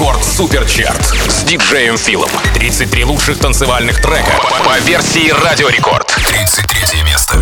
Рекорд Суперчарт с диджеем Филом. 33 лучших танцевальных трека по версии Радио Рекорд. 33 место.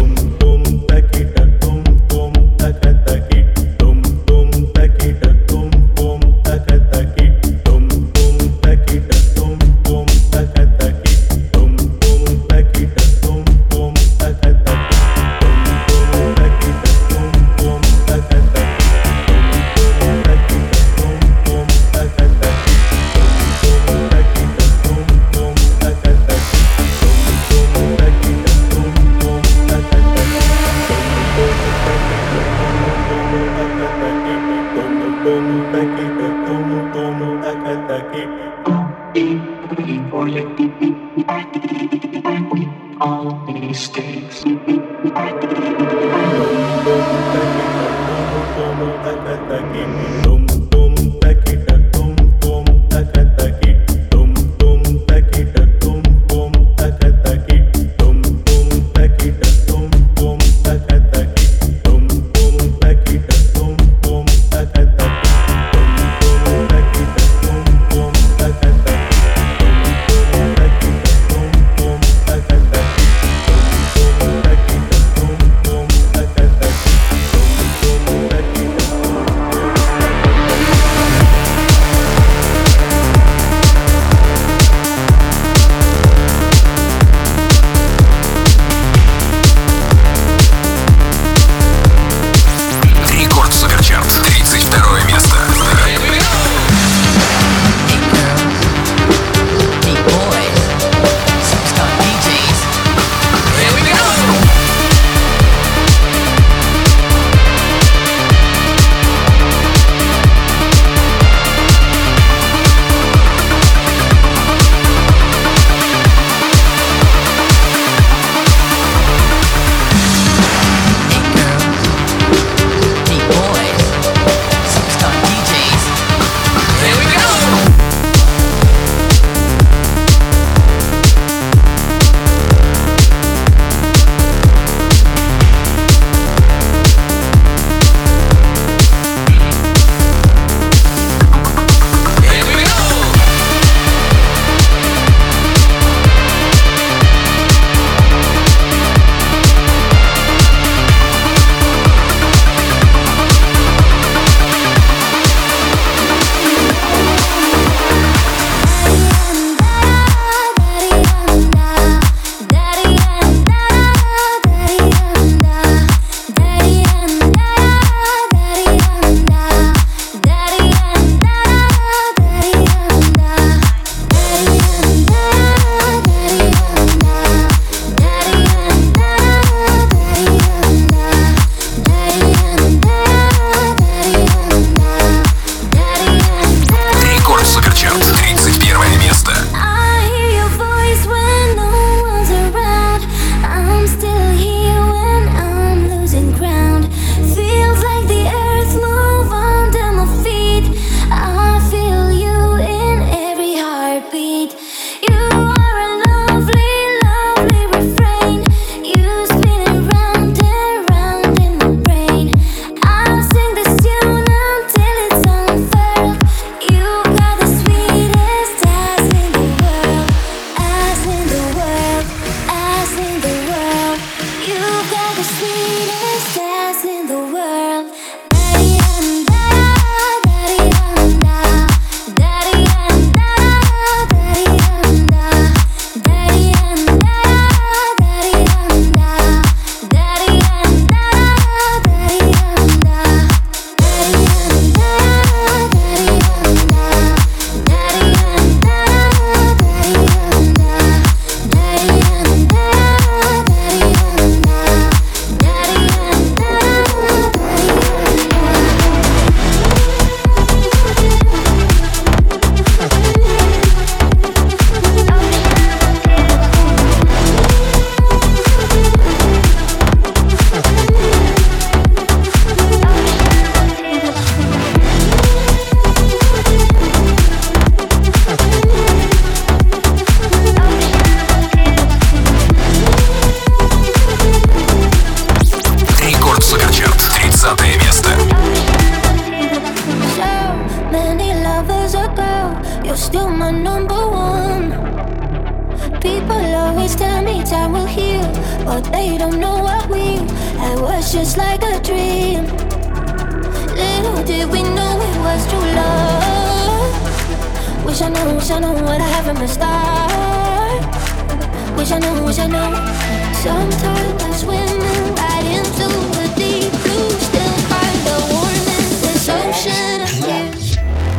was a girl, you're still my number one. People always tell me time will heal, but they don't know what we had was just like a dream. Little did we know it was true love. Wish I know what I have from the start. Wish I know. Sometimes I swim right into the deep blue, still find the warmth in this ocean of tears.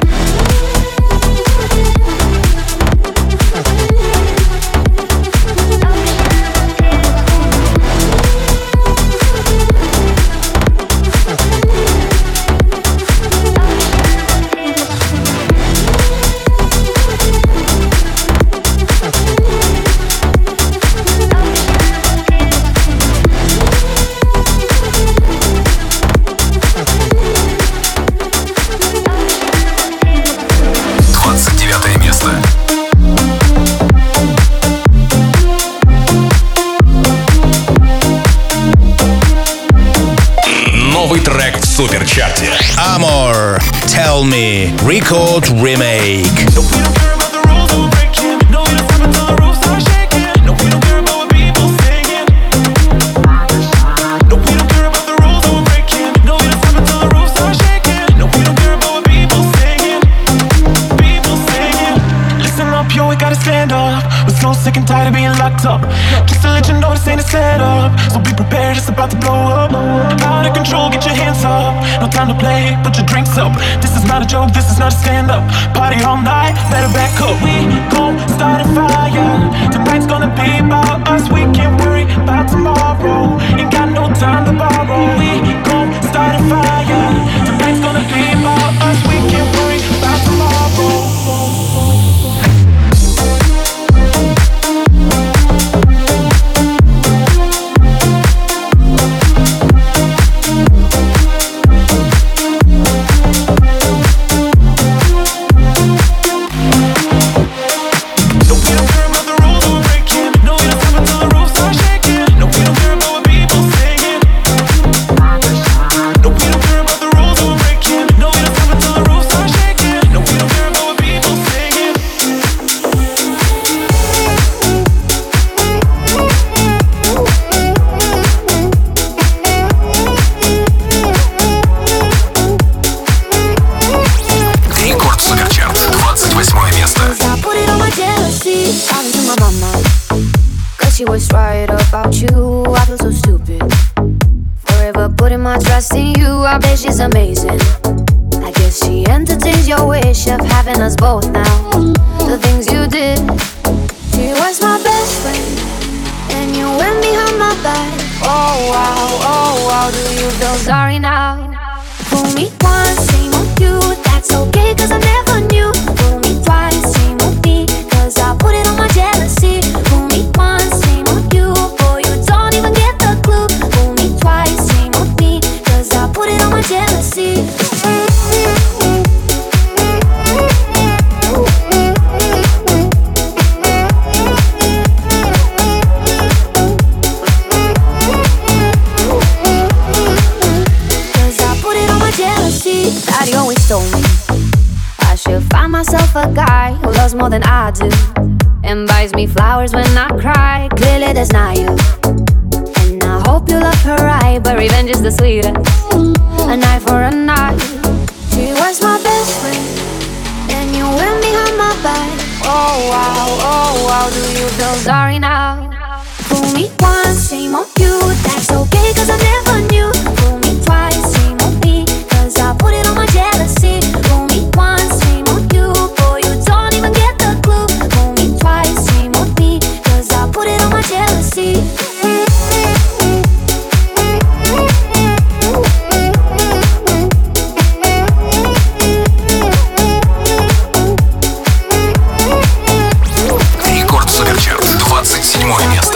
Новый трек в суперчарте. Amor, Tell Me, Record Remake. Sick and tired of being locked up. Just to let you know this ain't a setup, so be prepared, it's about to blow up. Out of control, get your hands up. No time to play, put your drinks up. This is not a joke, this is not a stand-up. Party all night, better back up. We gon' start a fire. Tonight's gonna be about us. We can't worry about tomorrow. Ain't got no time to borrow. We gon' start a fire. Tonight's gonna be about us. We can't worry about tomorrow. She was right about you, I feel so stupid. Forever putting my trust in you, I bet she's amazing. I guess she entertains your wish of having us both now. The things you did. She was my best friend, and you went behind my back. Oh wow, do you feel sorry now? Fool me once, shame on you, that's okay cause I never knew. Fool me twice, shame on me, cause I put it on my jealousy. Fool me once, shame on you, boy you don't even get the clue. Fool me twice, shame on me, cause I put it on my jealousy. That always told me I should find myself a guy who loves more than I do and buys me flowers when I cry. Clearly that's not you, and I hope you love her right, but revenge is the sweetest. An eye for an eye. She was my best friend, and you went behind my back. Oh wow, do you feel sorry now? Fool me once, shame on you, that's okay cause I never knew. Fool me twice, shame on me, cause I put it on my jealousy. Fool me once, shame on you, boy you don't even get the clue. Fool me twice, shame on me, cause I put it on my jealousy. Рекорд Суперчарт, 27 место.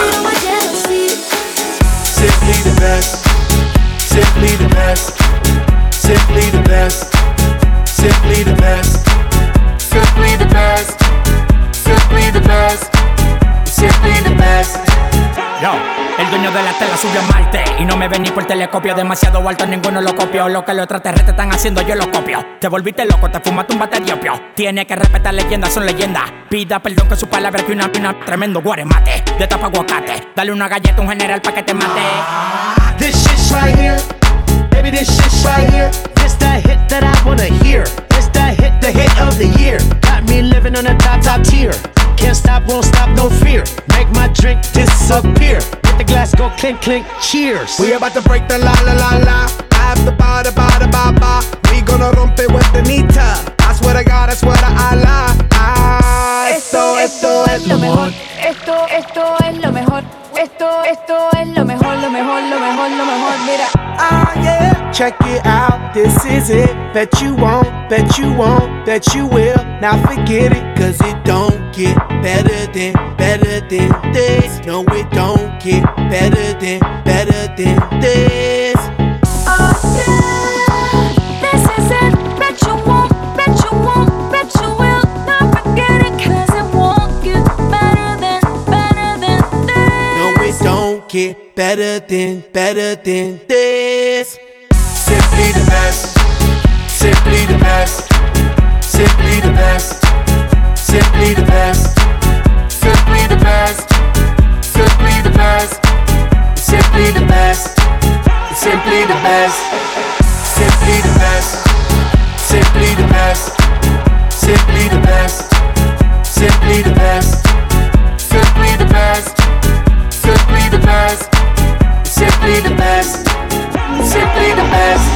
Simply the best, simply the best, simply the best, simply the best, simply the best, simply the best, simply the best. Yo. El dueño de la tela subió a Marte y no me ven ni por telescopio. Demasiado alto, ninguno lo copió. Lo que los extraterrestres están haciendo, yo lo copio. Te volviste loco, te fumaste un bate de opio. Tiene que respetar leyendas, son leyendas. Pida perdón que su palabra que una tremendo guaremate. De tapa aguacate, dale una galleta a un general pa' que te mate. This shit's right here, baby, this shit's right here. This the hit that I wanna hear. This the hit of the year. Got me living on a top tier. Can't stop, won't stop, no fear. Make my drink disappear. Let the glass go clink, clink, cheers. We about to break the la la la la. I have the ba da ba da ba ba. We gonna rompe with the nita. I swear to God, I swear to Allah. Esto es lo mejor. Esto es lo mejor. Esto es lo mejor, lo mejor, lo mejor, lo mejor. Mira. Ah yeah, check it out. This is it. Bet you won't, bet you won't, bet you will. Now forget it, cause it don't get better than this. No, it don't get better than this. Oh yeah, this is it. Bet you won't, bet you won't, bet you will. Now forget it, cause it won't get better than this. No, it don't get better than this. Simply the best, simply the best, simply the best, simply the best, simply the best, simply the best, simply the best, simply the best, simply the best, simply the best, simply the best, simply the best, simply the best, simply the best, simply the best, simply the best.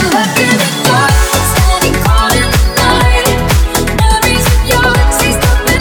Stop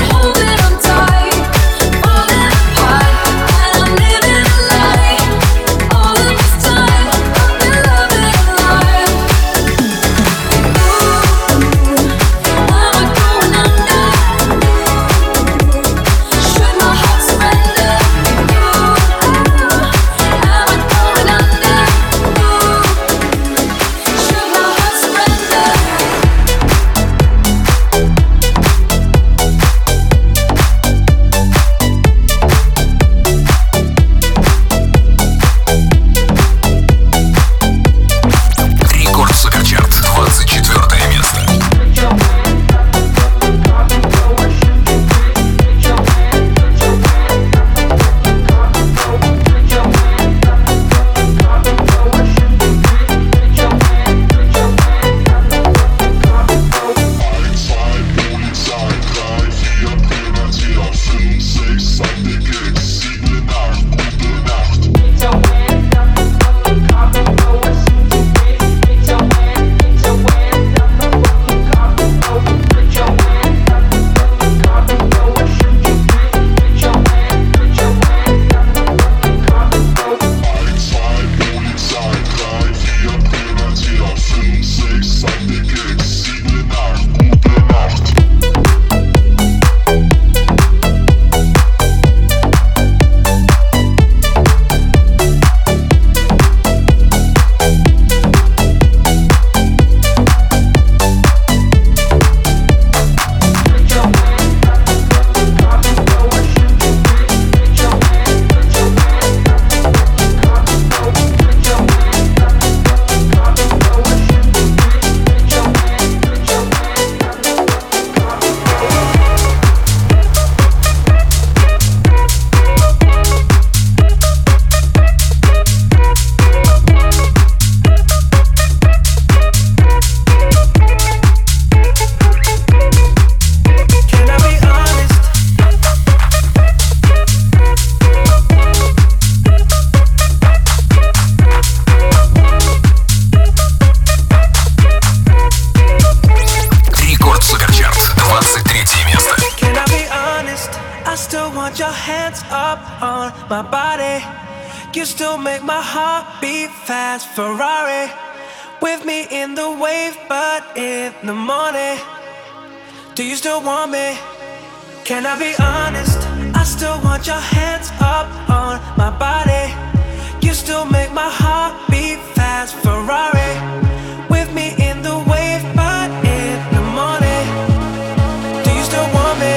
up on my body. You still make my heart beat fast. Ferrari with me in the wave, but in the morning. Do you still want me? Can I be honest? I still want your hands up on my body. You still make my heart beat fast. Ferrari with me in the wave, but in the morning. Do you still want me?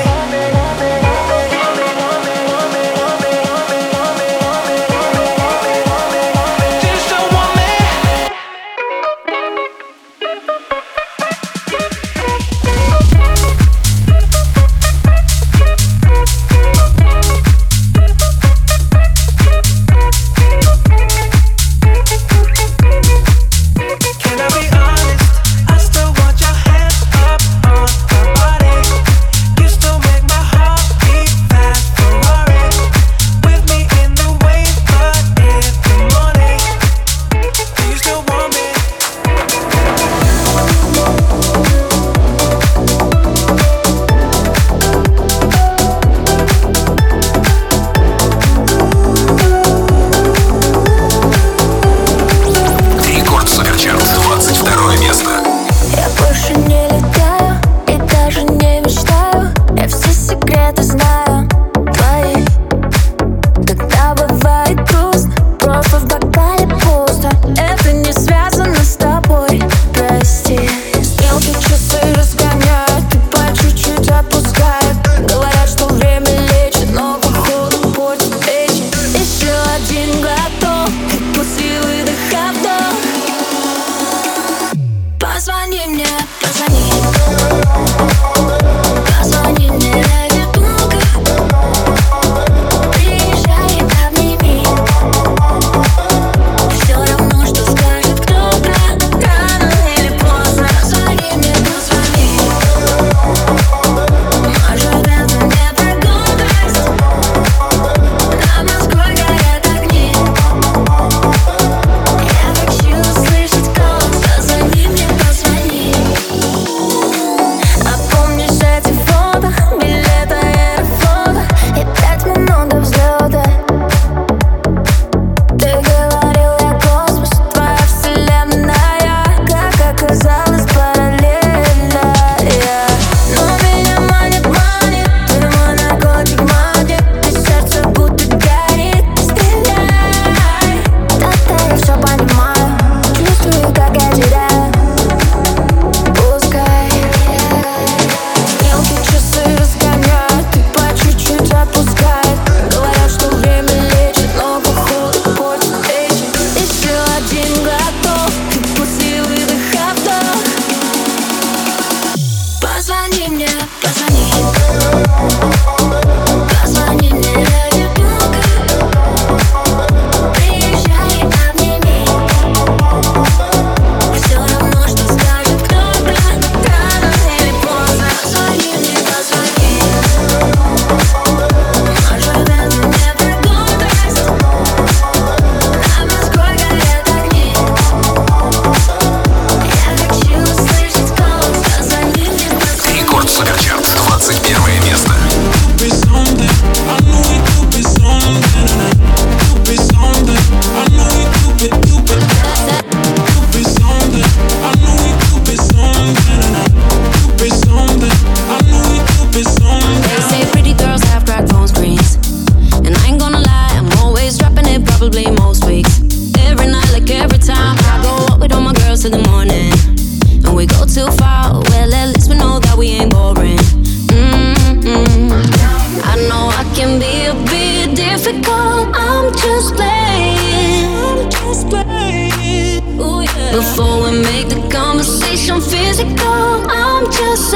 Before we make the conversation physical, I'm just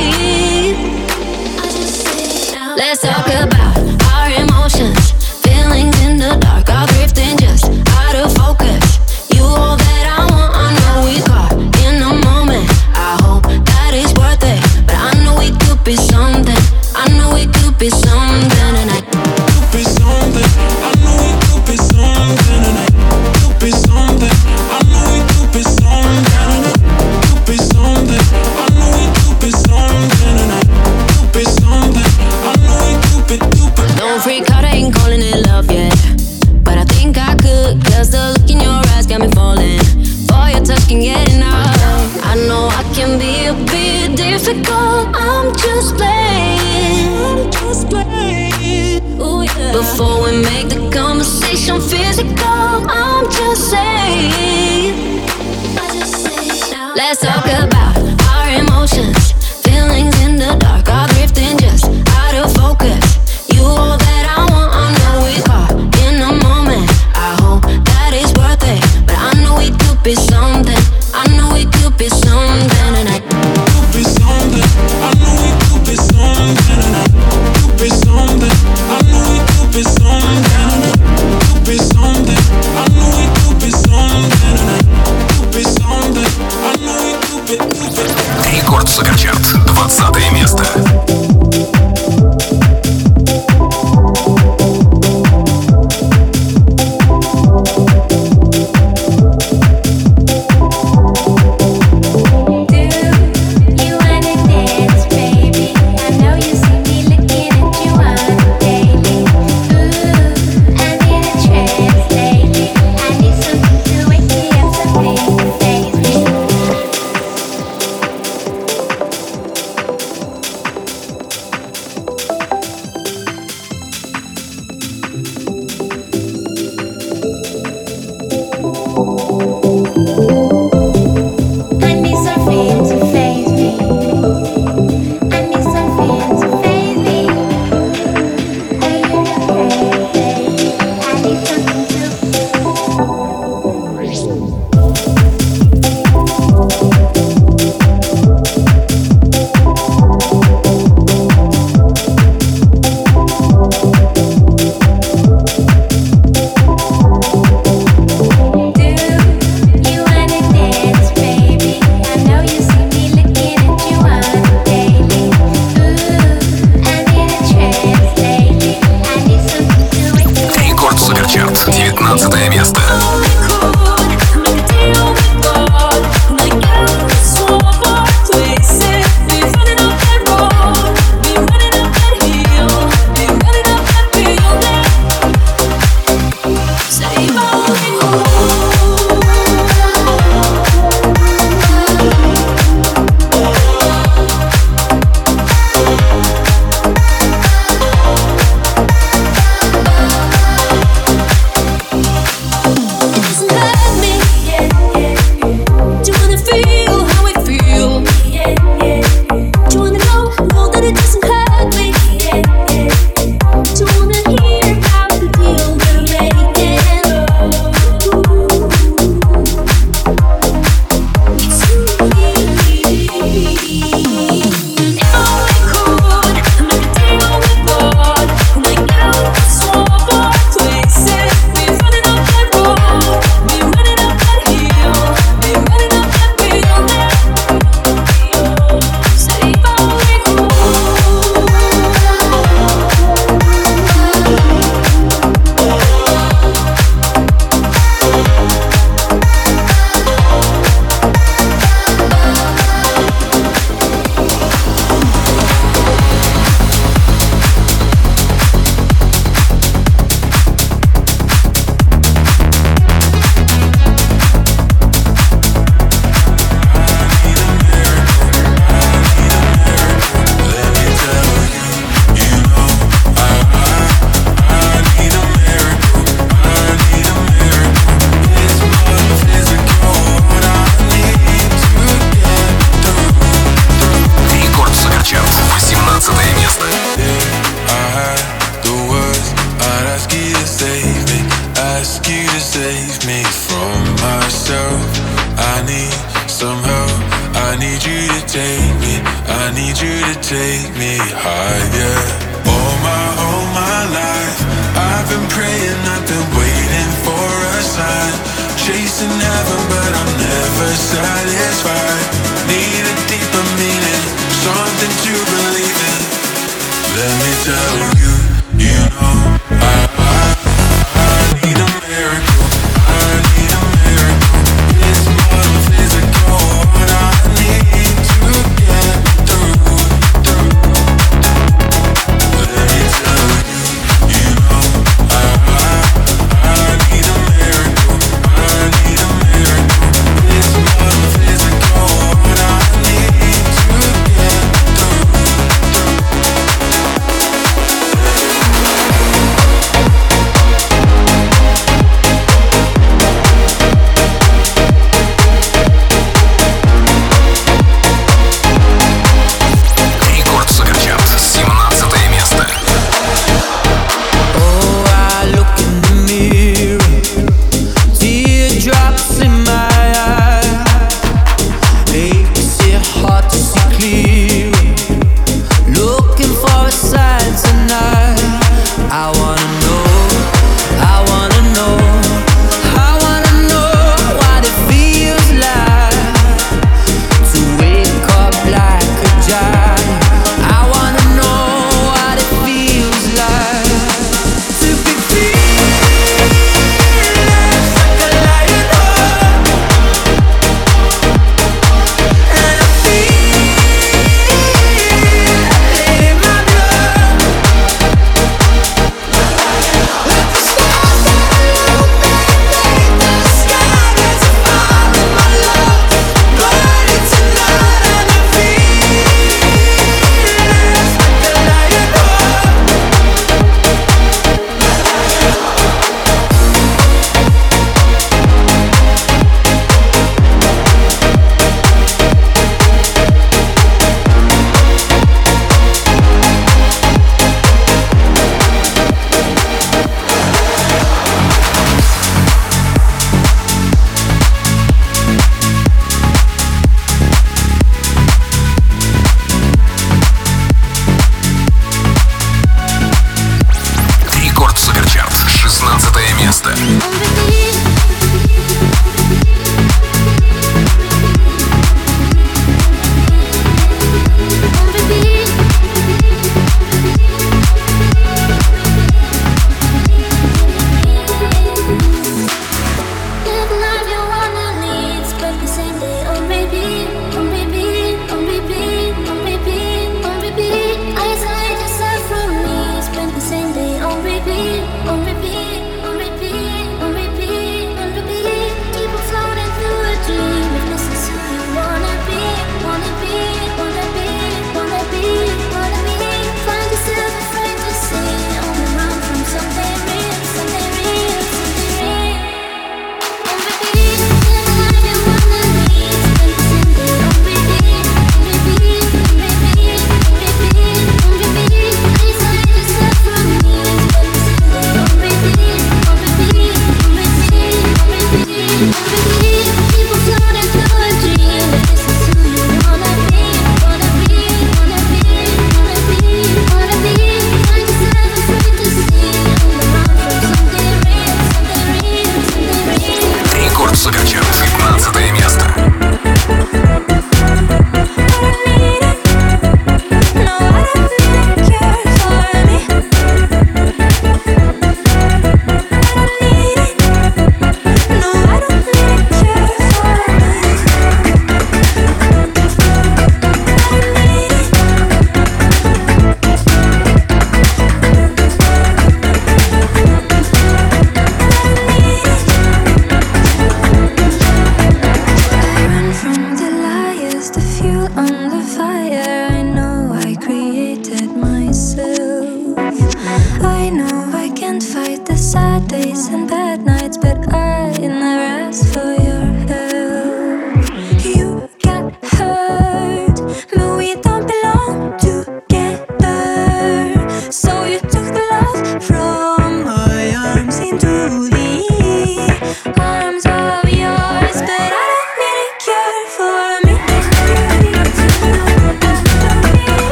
saying. Let's talk about our emotions, feelings in the dark, are drifting just out of focus. You all that I want, I know we caught in the moment. I hope that it's worth it, but I know we could be something. I know we could be something tonight. Could be something. I know we could be something tonight. Could be something. I know we could be something tonight. Could be something. I know we could be something tonight. Could be something. I know we could be. can get enough. I know I can be a bit difficult. I'm just playing. Ooh, yeah. Before we make the conversation physical, I'm just saying. Let's talk about our emotions. Feelings in the dark are drifting just out of focus. You all that I want, I know we caught in the moment. I hope that it's worth it, but I know it could be something. I know it could be something, and I could be something. I know it could be something, and I could be something. I know it could be something, and I could be something. I know it could be something, and I could be something. I know it could be. Рекорд Суперчарт, 20 место.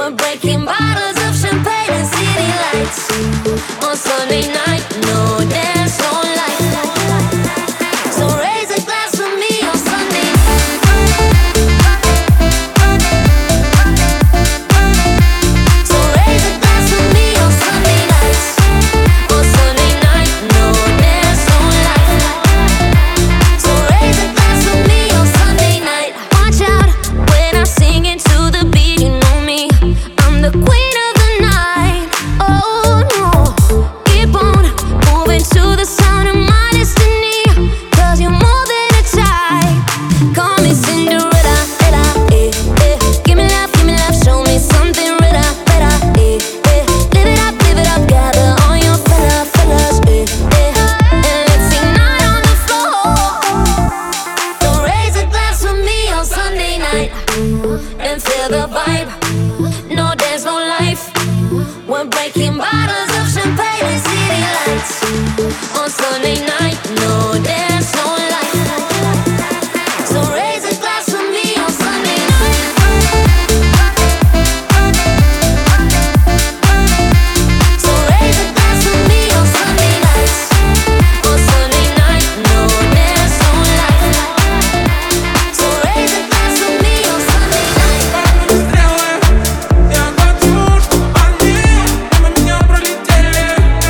We're breaking bottles of champagne and city lights. On Sunday night, no dance, no light. So raise a glass for me on Sunday night. So raise a glass for me on Sunday nights. On Sunday night, no dance, no light. So raise a glass for me on Sunday night. Watch out when I sing into the beat, you know me. I'm the queen of the night. Oh no, keep on moving to the sound of my destiny. 'Cause you're more than a type. Call me Cinderella, Ella, eh, eh. Give me love, show me something better, better, eh, eh. Live it up, gather all your fellas, eh, eh. And let's ignite on the floor. So raise a glass for me on Sunday night and feel the vibe. No dance, no life. We're breaking bottles of champagne and city lights. On Sunday night, no dance, no life. So raise a glass for me on Sunday night. So raise a glass for me on Sunday nights. On Sunday night, no dance, no life. So raise a glass for me on Sunday night. Я хочу, чтобы они мимо меня пролетели.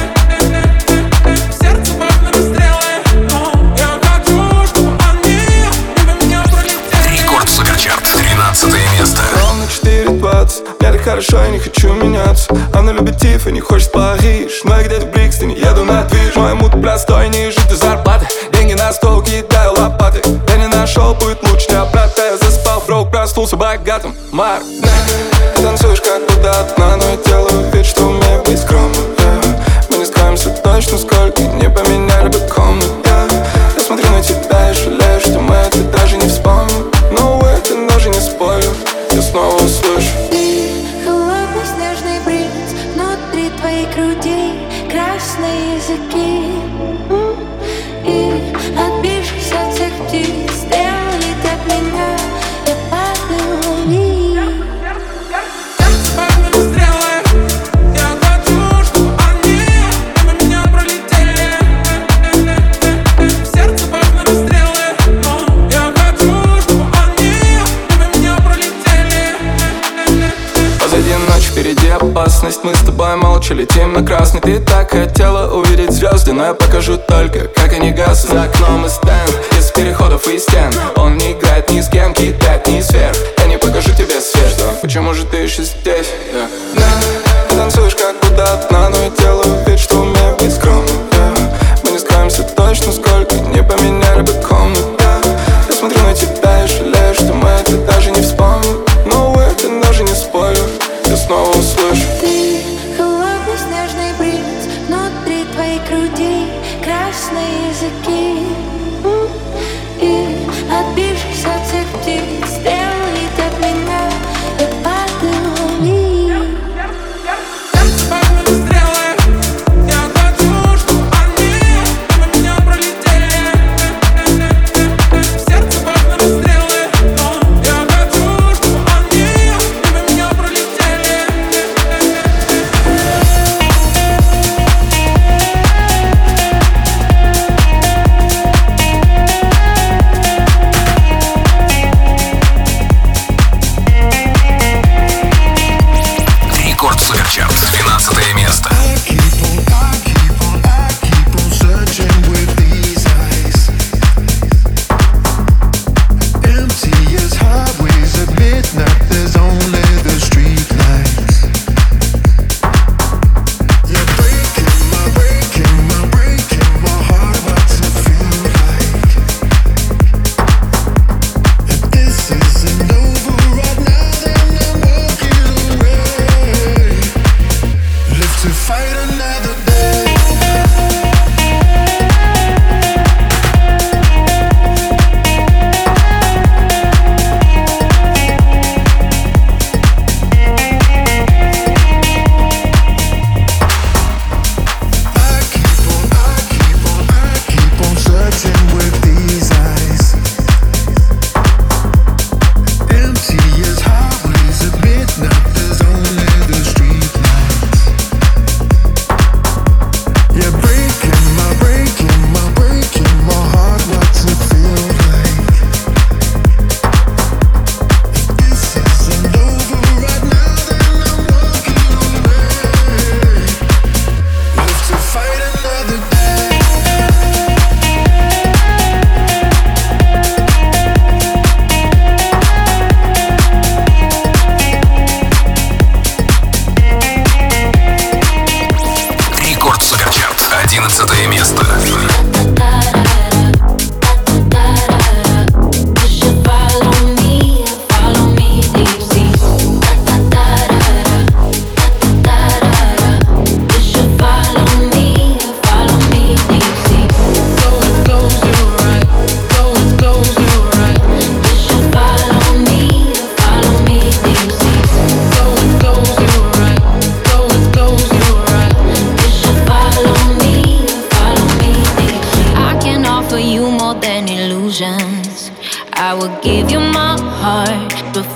Сердце пахнет стрелы. Я хочу, чтобы они мимо меня пролетели. Рекорд Суперчарт, 13 место. Ровно 4:20, мне так хорошо, я не хочу меняться. Она любит Тиффани, хочет в Париж, но я где-то в Брикстоне, еду на движ. Мой мут простой, не жить до зарплаты. Деньги на стол, кидаю лопаты. Я не нашел, будет лучше не обратно. Я заспал, броук, проснулся богатым. Марк, ты танцуешь как будто одна, но я делаю вид, что умею быть скромным. Мы не скроемся точно, сколько не поменяли бы комнат. Я смотрю на тебя и жалею, что мы это даже не вспомним. Но это даже не спорю, я снова услышу. Холодный снежный бриз внутри твоей груди, красные языки. И отбившись от всех птиц, стрелы от меня, я падаю вниз. Пахнут стрелы. Я хочу, чтобы они мимо меня пролетели. Сердце пахнут стрелы. Я хочу, чтобы они мимо меня пролетели. Позади ночь, впереди опасность. Мы с тобой молча летим на красный. Ты так хотела увидеть звезды, но я покажу только, как они гаснут. За окном и стенд, из переходов и стен. Он не играет ни с кем, кидает ни сверх. Я не покажу тебе свет. Почему же ты еще здесь? Ты танцуешь как будто одна, но я делаю вид, что умею быть скромным. Мы не скроемся точно, сколько не поменяли бы комнат. Я смотрю на тебя и жалею, что мы это даже не вспомним. Но это даже не спорю, я снова услышу. Ты холодный снежный бриз внутри твоей груди, красные языки. И отбившись от всех птиц, стрелы от меня, я падаю вниз. Сердце пахнут стрелы. Я хочу, чтобы они мимо меня пролетели.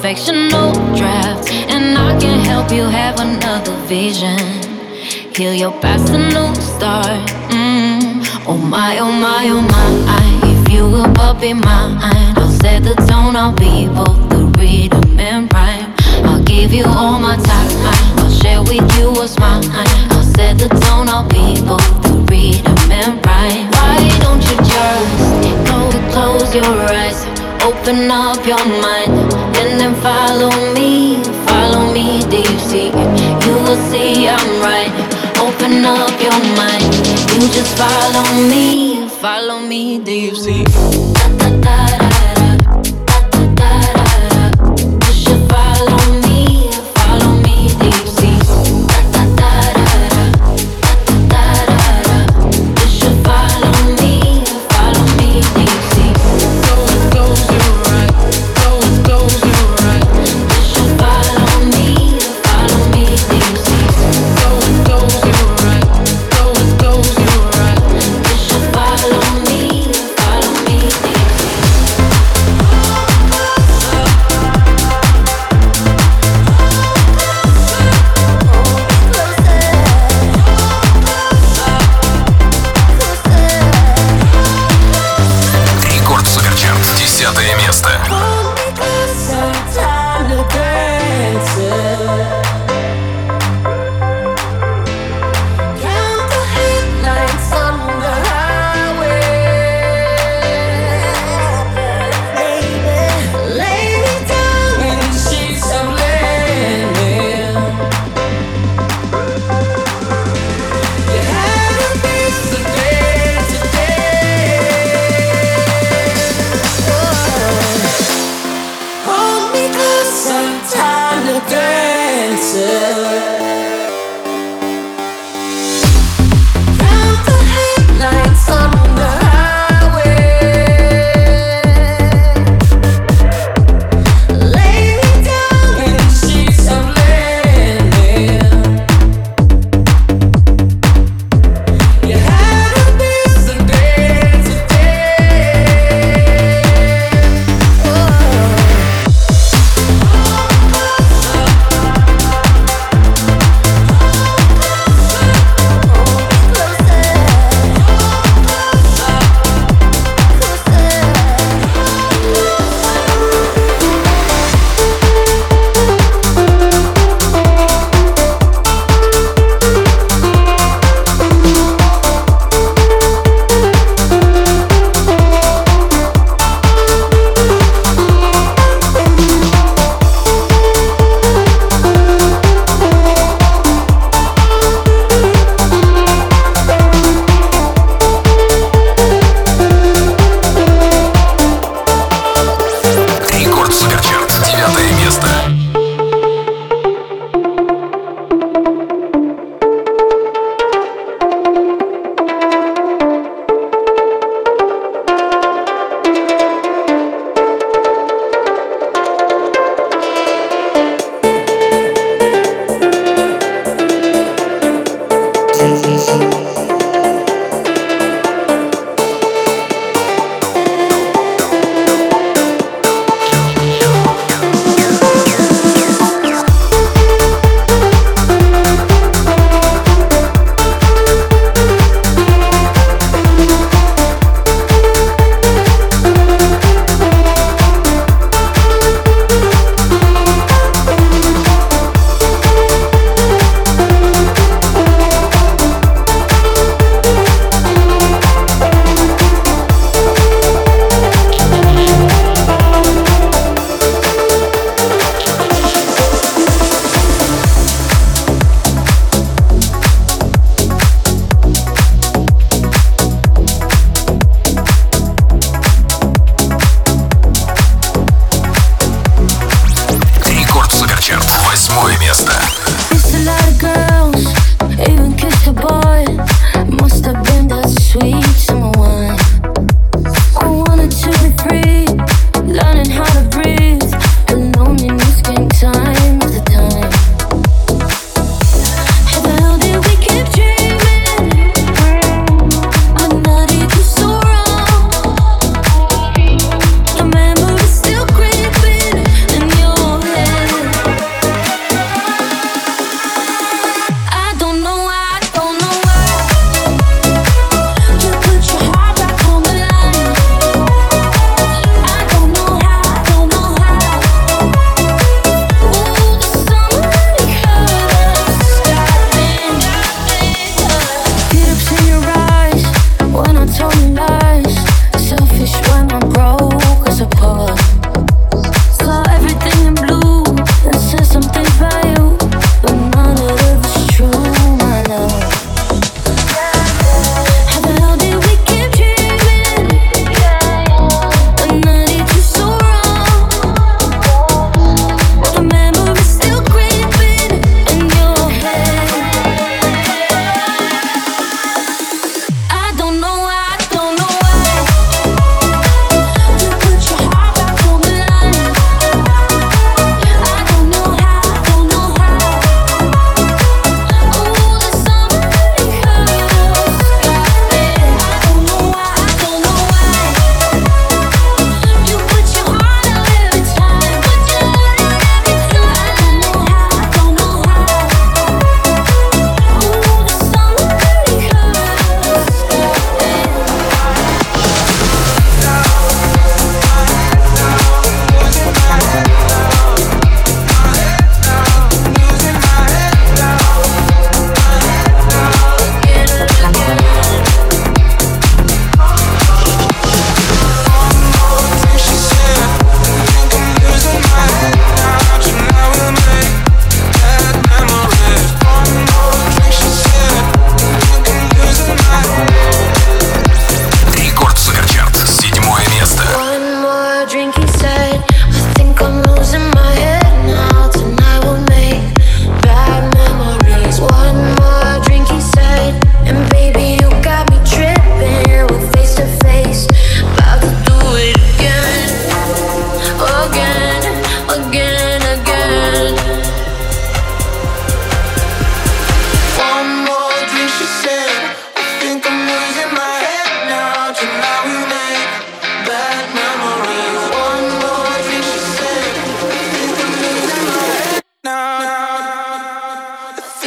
perfectional draft, and I can help you have another vision. Heal your past, a new start. Oh my, oh my, oh my. If you will but be mine, I'll set the tone. I'll be both the rhythm and rhyme. I'll give you all my time. I'll share with you what's mine. I'll set the tone. I'll be both the rhythm and rhyme. Why don't you just close your eyes, open up your mind, and then follow me. Follow me, do you see? You will see I'm right. Open up your mind. You just follow me. Follow me, do you see? Da, da, da, da.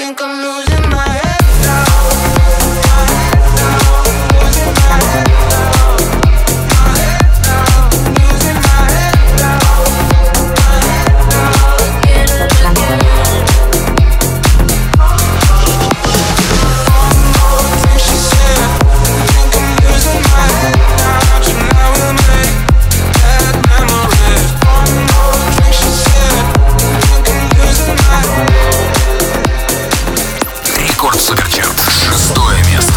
think I'm losing my head. Суперчарт, 6-е место.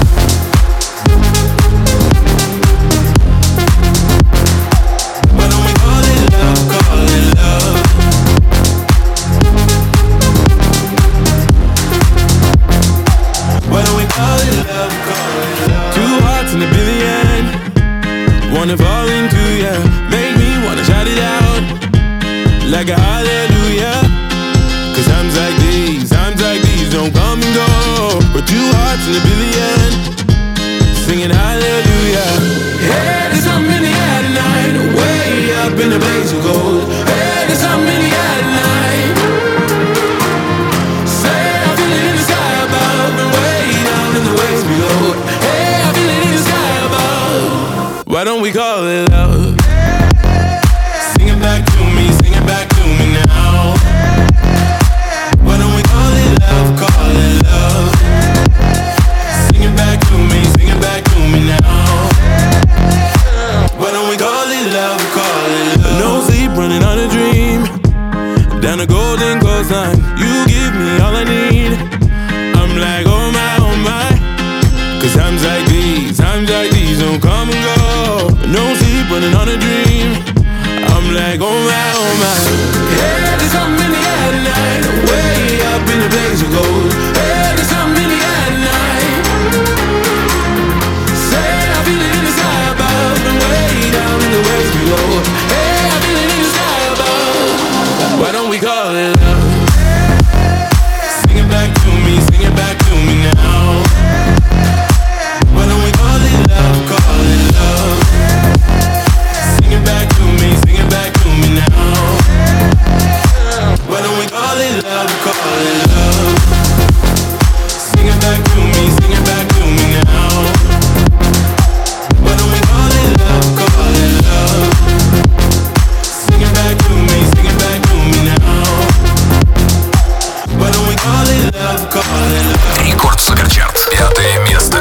Two hearts in a billion, wanna fall into ya, make me wanna shout it out like a hallelujah. Cause times like these don't come and go. But two hearts in a billion, singing hallelujah. Hey, there's something in the air tonight, way up in the blaze of gold. Hey, there's something in the air tonight. Say I feel it in the sky above, and way down in the waves below. Hey, I feel it in the sky above. Why don't we call it love? Sing it back to me, sing it back to me now. Why don't we call it love, call it love? Sing it back to me now. Why don't we call it love, call it love? No sleep, running on a dream, down the golden coastline. You give me all I need. I'm like, oh my. Cause times like these don't come and go. No sleep, running on a dream. I'm like, oh my. Hey, there's something in the air tonight, way up in the blaze of gold. Hey, there's something in the air tonight. Say I feel it in the sky above, and way down in the waves below. Hey, I feel it in the sky above. Why don't we call it love? Sing it back to me now. Why don't we call it love, call it love? Sing it back to me now. Why don't we call it love, call it love? Sing it back to me now. Why don't we call it love, call it love? Sing it back to me now. Why don't we call it love, call it love? Рекорд Суперчарт, 5-е место.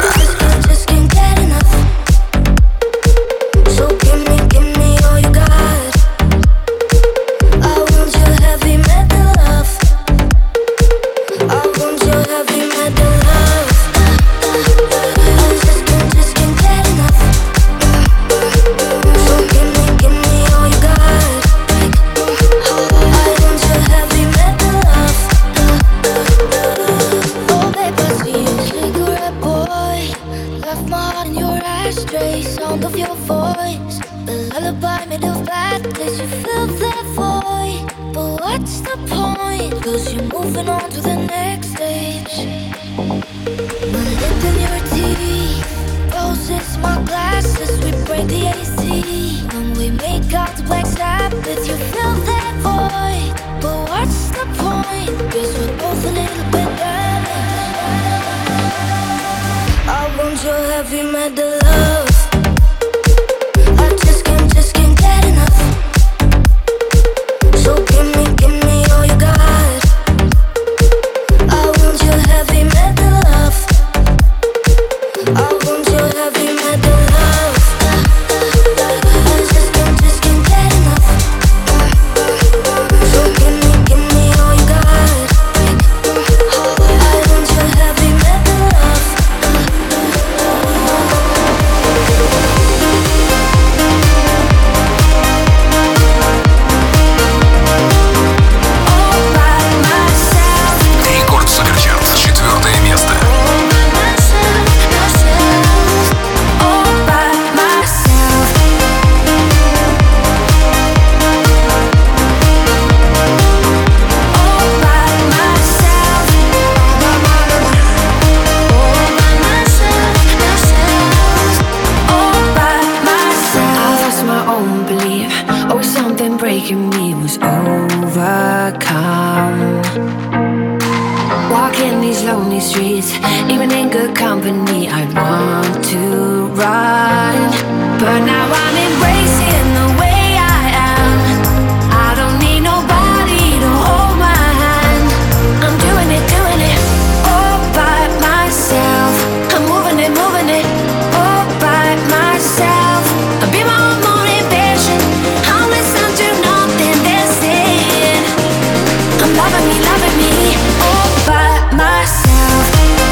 lonely streets. Even in good company, I'd want to run. But now I'm embracing the way I am. I don't need nobody to hold my hand. I'm doing it all by myself. I'm moving it all by myself. I'll be my own motivation. I'll listen to nothing they're saying. I'm loving me all by myself.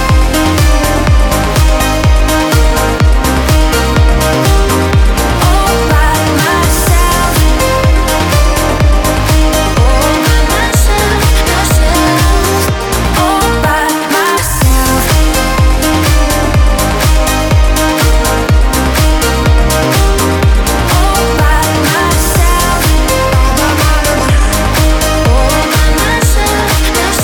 All by myself. All by myself, all by myself. All by myself. All by myself.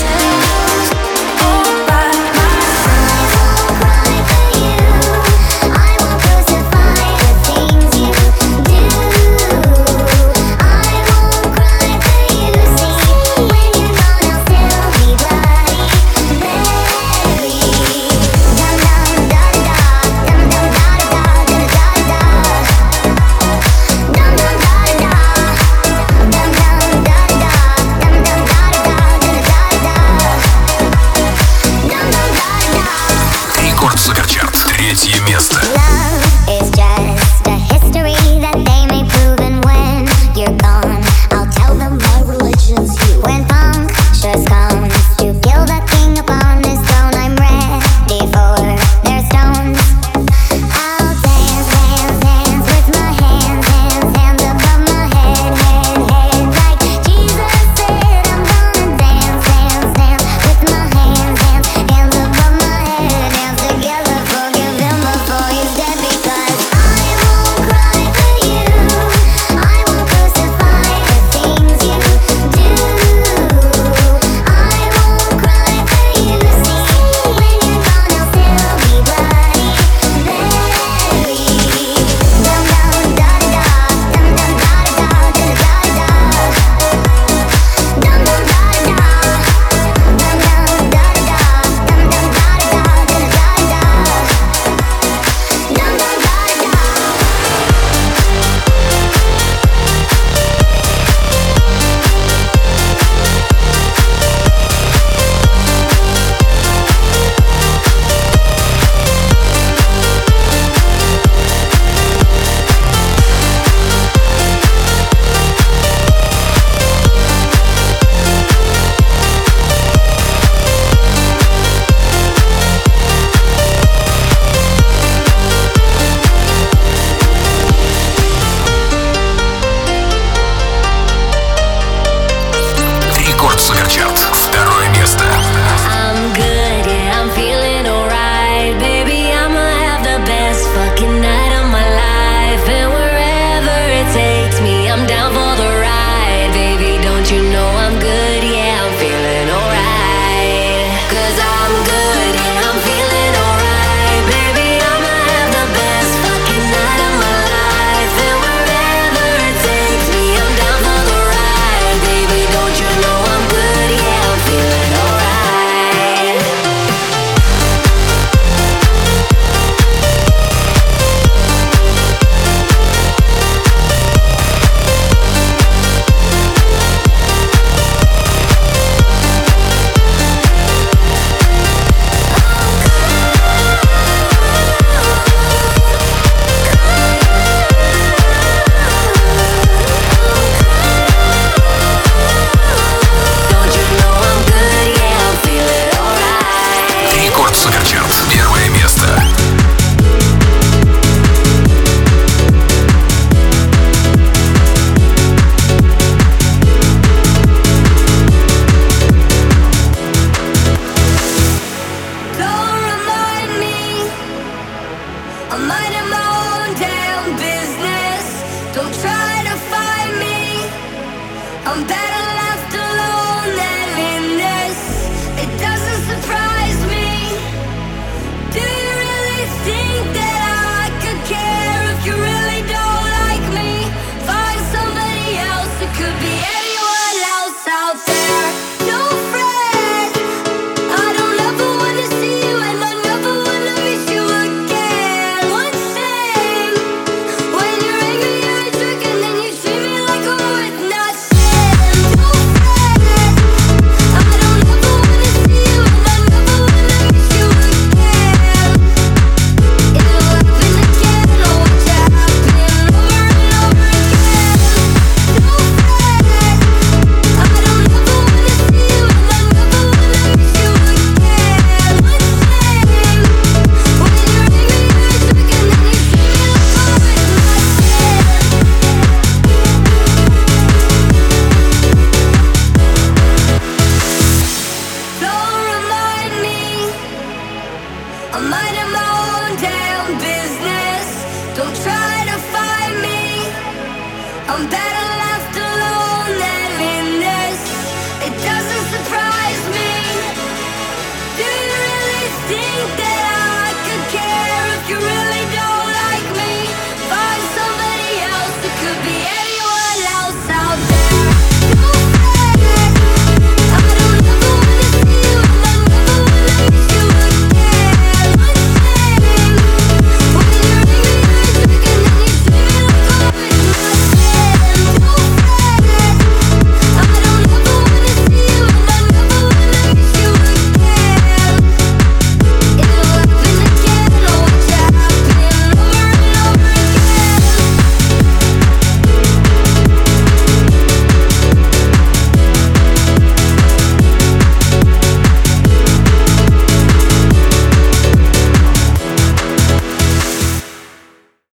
my